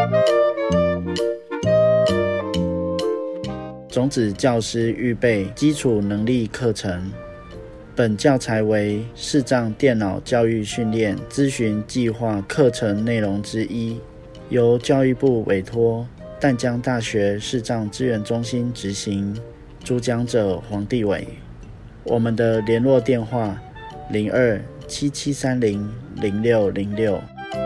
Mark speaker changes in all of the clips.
Speaker 1: 种子教师预备基础能力课程，本教材为视障电脑教育训练咨询计划课程内容之一，由教育部委托淡江大学视障资源中心执行，主讲者黄帝伟。我们的联络电话02-7730-0606。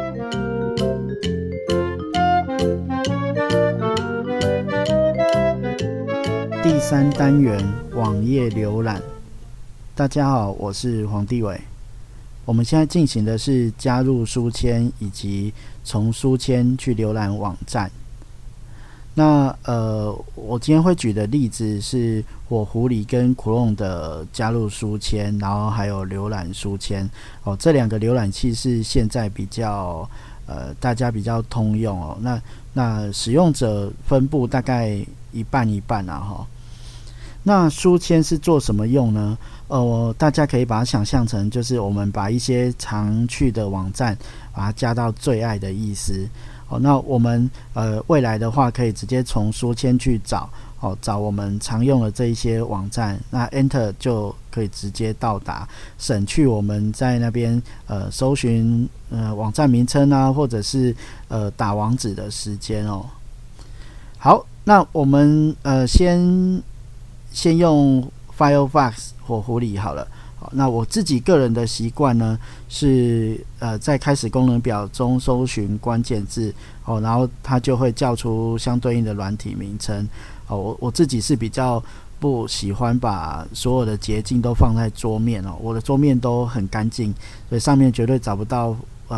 Speaker 1: 第3单元网页浏览。大家好，我是黄帝伟。我们现在进行的是加入书签以及从书签去浏览网站。那我今天会举的例子是火狐狸跟 Chrome 的加入书签，然后还有浏览书签这两个浏览器是现在比较大家比较通用那使用者分布大概一半一半那书签是做什么用呢？大家可以把它想象成就是我们把一些常去的网站把它加到最爱的意思。那我们未来的话可以直接从书签去找我们常用的这一些网站，那 Enter 就可以直接到达，省去我们在那边搜寻网站名称啊，或者是打网址的时间好，那我们先用 Firefox 火狐狸好了。那我自己个人的习惯呢是在开始功能表中搜寻关键字然后它就会叫出相对应的软体名称我自己是比较不喜欢把所有的捷径都放在桌面我的桌面都很干净，所以上面绝对找不到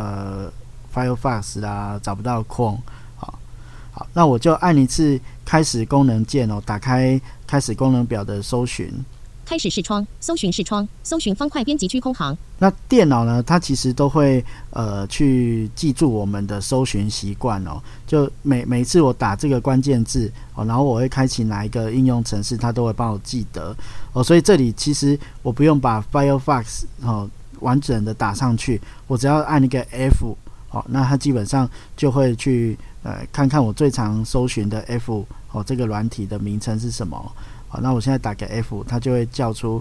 Speaker 1: Firefox 啦，找不到 Chrome。好，那我就按一次开始功能键打开开始功能表的搜寻。
Speaker 2: 开始视窗，搜寻视窗，搜寻方块编辑区空行。
Speaker 1: 那电脑呢，它其实都会去记住我们的搜寻习惯就每次我打这个关键字然后我会开启哪一个应用程式，它都会帮我记得所以这里其实我不用把 Firefox 完整的打上去，我只要按一个 F那它基本上就会去看看我最常搜寻的 F 这个软体的名称是什么。好，那我现在打个 F， 它就会叫出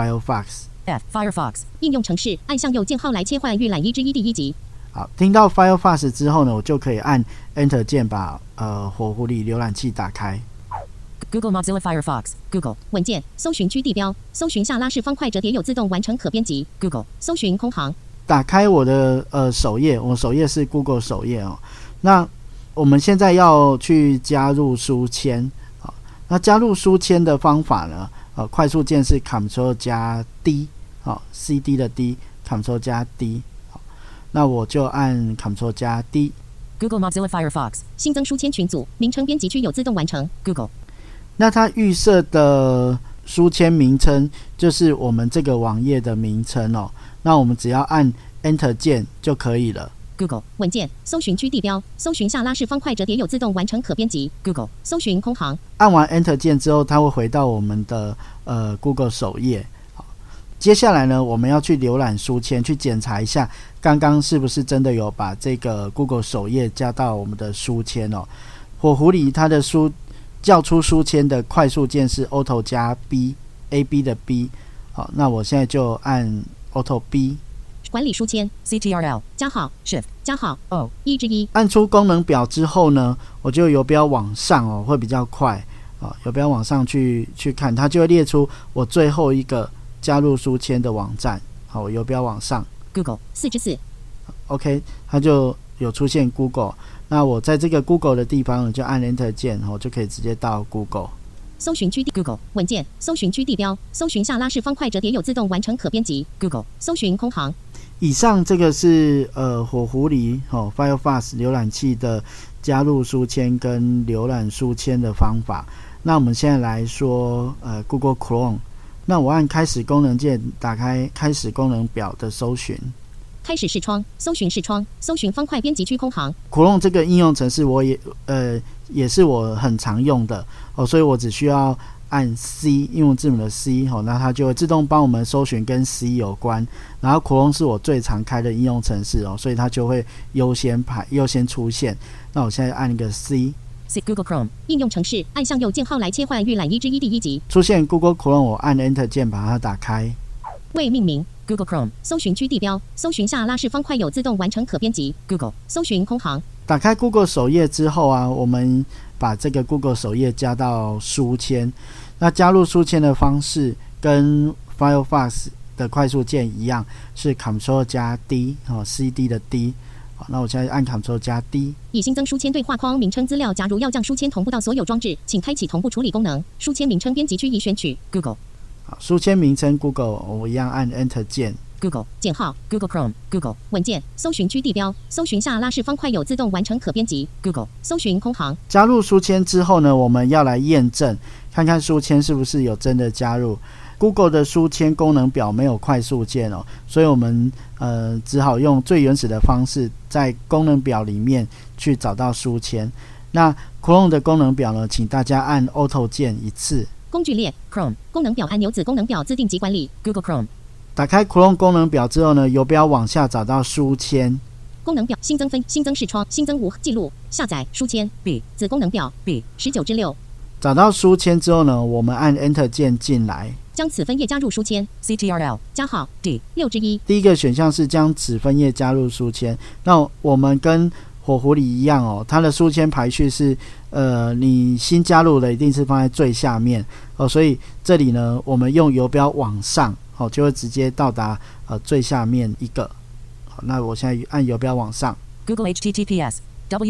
Speaker 2: Firefox 应用程式，按向右键号来切换预览1之1第1集。
Speaker 1: 好，听到 Firefox 之后呢，我就可以按 Enter 键把火狐狸浏览器打开。
Speaker 2: Google Mozilla Firefox Google 文件搜寻区地标，搜寻下拉式方块折叠有自动完成可编辑 Google 搜寻空行。
Speaker 1: 打开我的首页，我首页是 Google 首页那我们现在要去加入书签那加入书签的方法呢快速键是 Ctrl 加 D CD 的 D Ctrl 加 D 那我就按 Ctrl 加 D。
Speaker 2: Google Mozilla Firefox 新增书签群组，名称编辑区有自动完成 Google。
Speaker 1: 那它预设的书签名称就是我们这个网页的名称那我们只要按 Enter 键就可以了。
Speaker 2: Google 文件搜寻区地标，搜寻下拉式方块折叠有自动完成可编辑 Google 搜寻空行。
Speaker 1: 按完 Enter 键之后，它会回到我们的Google 首页。好，接下来呢，我们要去浏览书签，去检查一下刚刚是不是真的有把这个 Google 首页加到我们的书签火狐狸它的叫出书签的快速键是 Auto 加 B AB 的 B。好，那我现在就按 Auto B。
Speaker 2: 管理书签 CTRL 加号 Shift 加号 O 1之1。
Speaker 1: 按出功能表之后呢，我就游标往上会比较快游标往上去看，它就会列出我最后一个加入书签的网站。好，我游标往上
Speaker 2: Google 4之4。
Speaker 1: OK， 它就有出现 Google。 那我在这个 Google 的地方就按 Enter 键就可以直接到 Google。
Speaker 2: 搜寻区 Google 文件搜寻区地标，搜寻下拉式方块折叠有自动完成可编辑 Google 搜寻空行。
Speaker 1: 以上这个是火狐狸Firefox 浏览器的加入书签跟浏览书签的方法。那我们现在来说Google Chrome。那我按开始功能键打开开始功能表的搜寻。
Speaker 2: 开始视窗，搜寻视窗，搜寻方块编辑区空行。
Speaker 1: Chrome 这个应用程式我也是我很常用的所以我只需要按 C 英文字母的 C， 那它就会自动帮我们搜寻跟 C 有关。然后 Chrome 是我最常开的应用程式所以它就会优先出现。那我现在按一个 C。
Speaker 2: Google Chrome 应用程式，按向右键号来切换预览1之1第1集。
Speaker 1: 出现 Google Chrome， 我按 Enter 键把它打开。
Speaker 2: 未命名 Google Chrome 搜寻区地标，搜寻下拉式方块有自动完成可编辑 Google 搜寻空行。
Speaker 1: 打开 Google 首页之后我们把这个 Google 首页加到书签。那加入书签的方式跟 Firefox 的快速键一样，是 Ctrl 加 D，CD 的 D。好，那我现在按 Ctrl 加 D。
Speaker 2: 已新增书签对话框名称资料，假如要将书签同步到所有装置，请开启同步处理功能。书签名称编辑区已选取 Google。
Speaker 1: 好，书签名称 Google， 我一样按 Enter 键。
Speaker 2: Google 键号 Google Chrome Google 文件搜寻区地标，搜寻下拉式方块有自动完成可编辑 Google 搜寻空行。
Speaker 1: 加入书签之后呢，我们要来验证，看看书签是不是有真的加入。Google 的书签功能表没有快速键所以我们只好用最原始的方式，在功能表里面去找到书签。那 Chrome 的功能表呢，请大家按 Auto 键一次。
Speaker 2: 工具列 Chrome 功能表按钮子功能表自定级管理 Google Chrome。
Speaker 1: 打开 Chrome 功能表之后呢，游标往下找到书签。
Speaker 2: 功能表新增新增视窗新增无记录下载书签 B 子功能表 B 19/6。
Speaker 1: 找到书签之后呢，我们按 Enter 键进来。
Speaker 2: 将此分页加入书签 CTRL 加号 D 6/1。
Speaker 1: 第一个选项是将此分页加入书签。那我们跟火狐狸一样它的书签排序是你新加入的一定是放在最下面所以这里呢，我们用游标往上就会直接到达最下面一个。好，那我现在按游标往上。
Speaker 2: Google HTTPS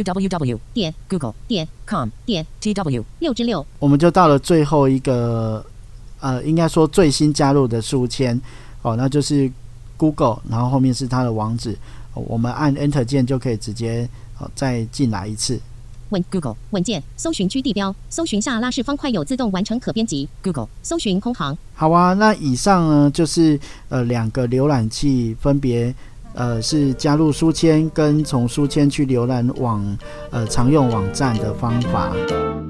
Speaker 2: www 点 google 点 com 点 tw 6/6。
Speaker 1: 我们就到了最后一个应该说最新加入的书签那就是 Google， 然后后面是它的网址我们按 Enter 键就可以直接再进来一次。
Speaker 2: Google 文件搜寻区地标，搜寻下拉式方块有自动完成可编辑 Google 搜寻空行。
Speaker 1: 好啊，那以上呢就是2个浏览器，分别是加入书签跟从书签去浏览常用网站的方法。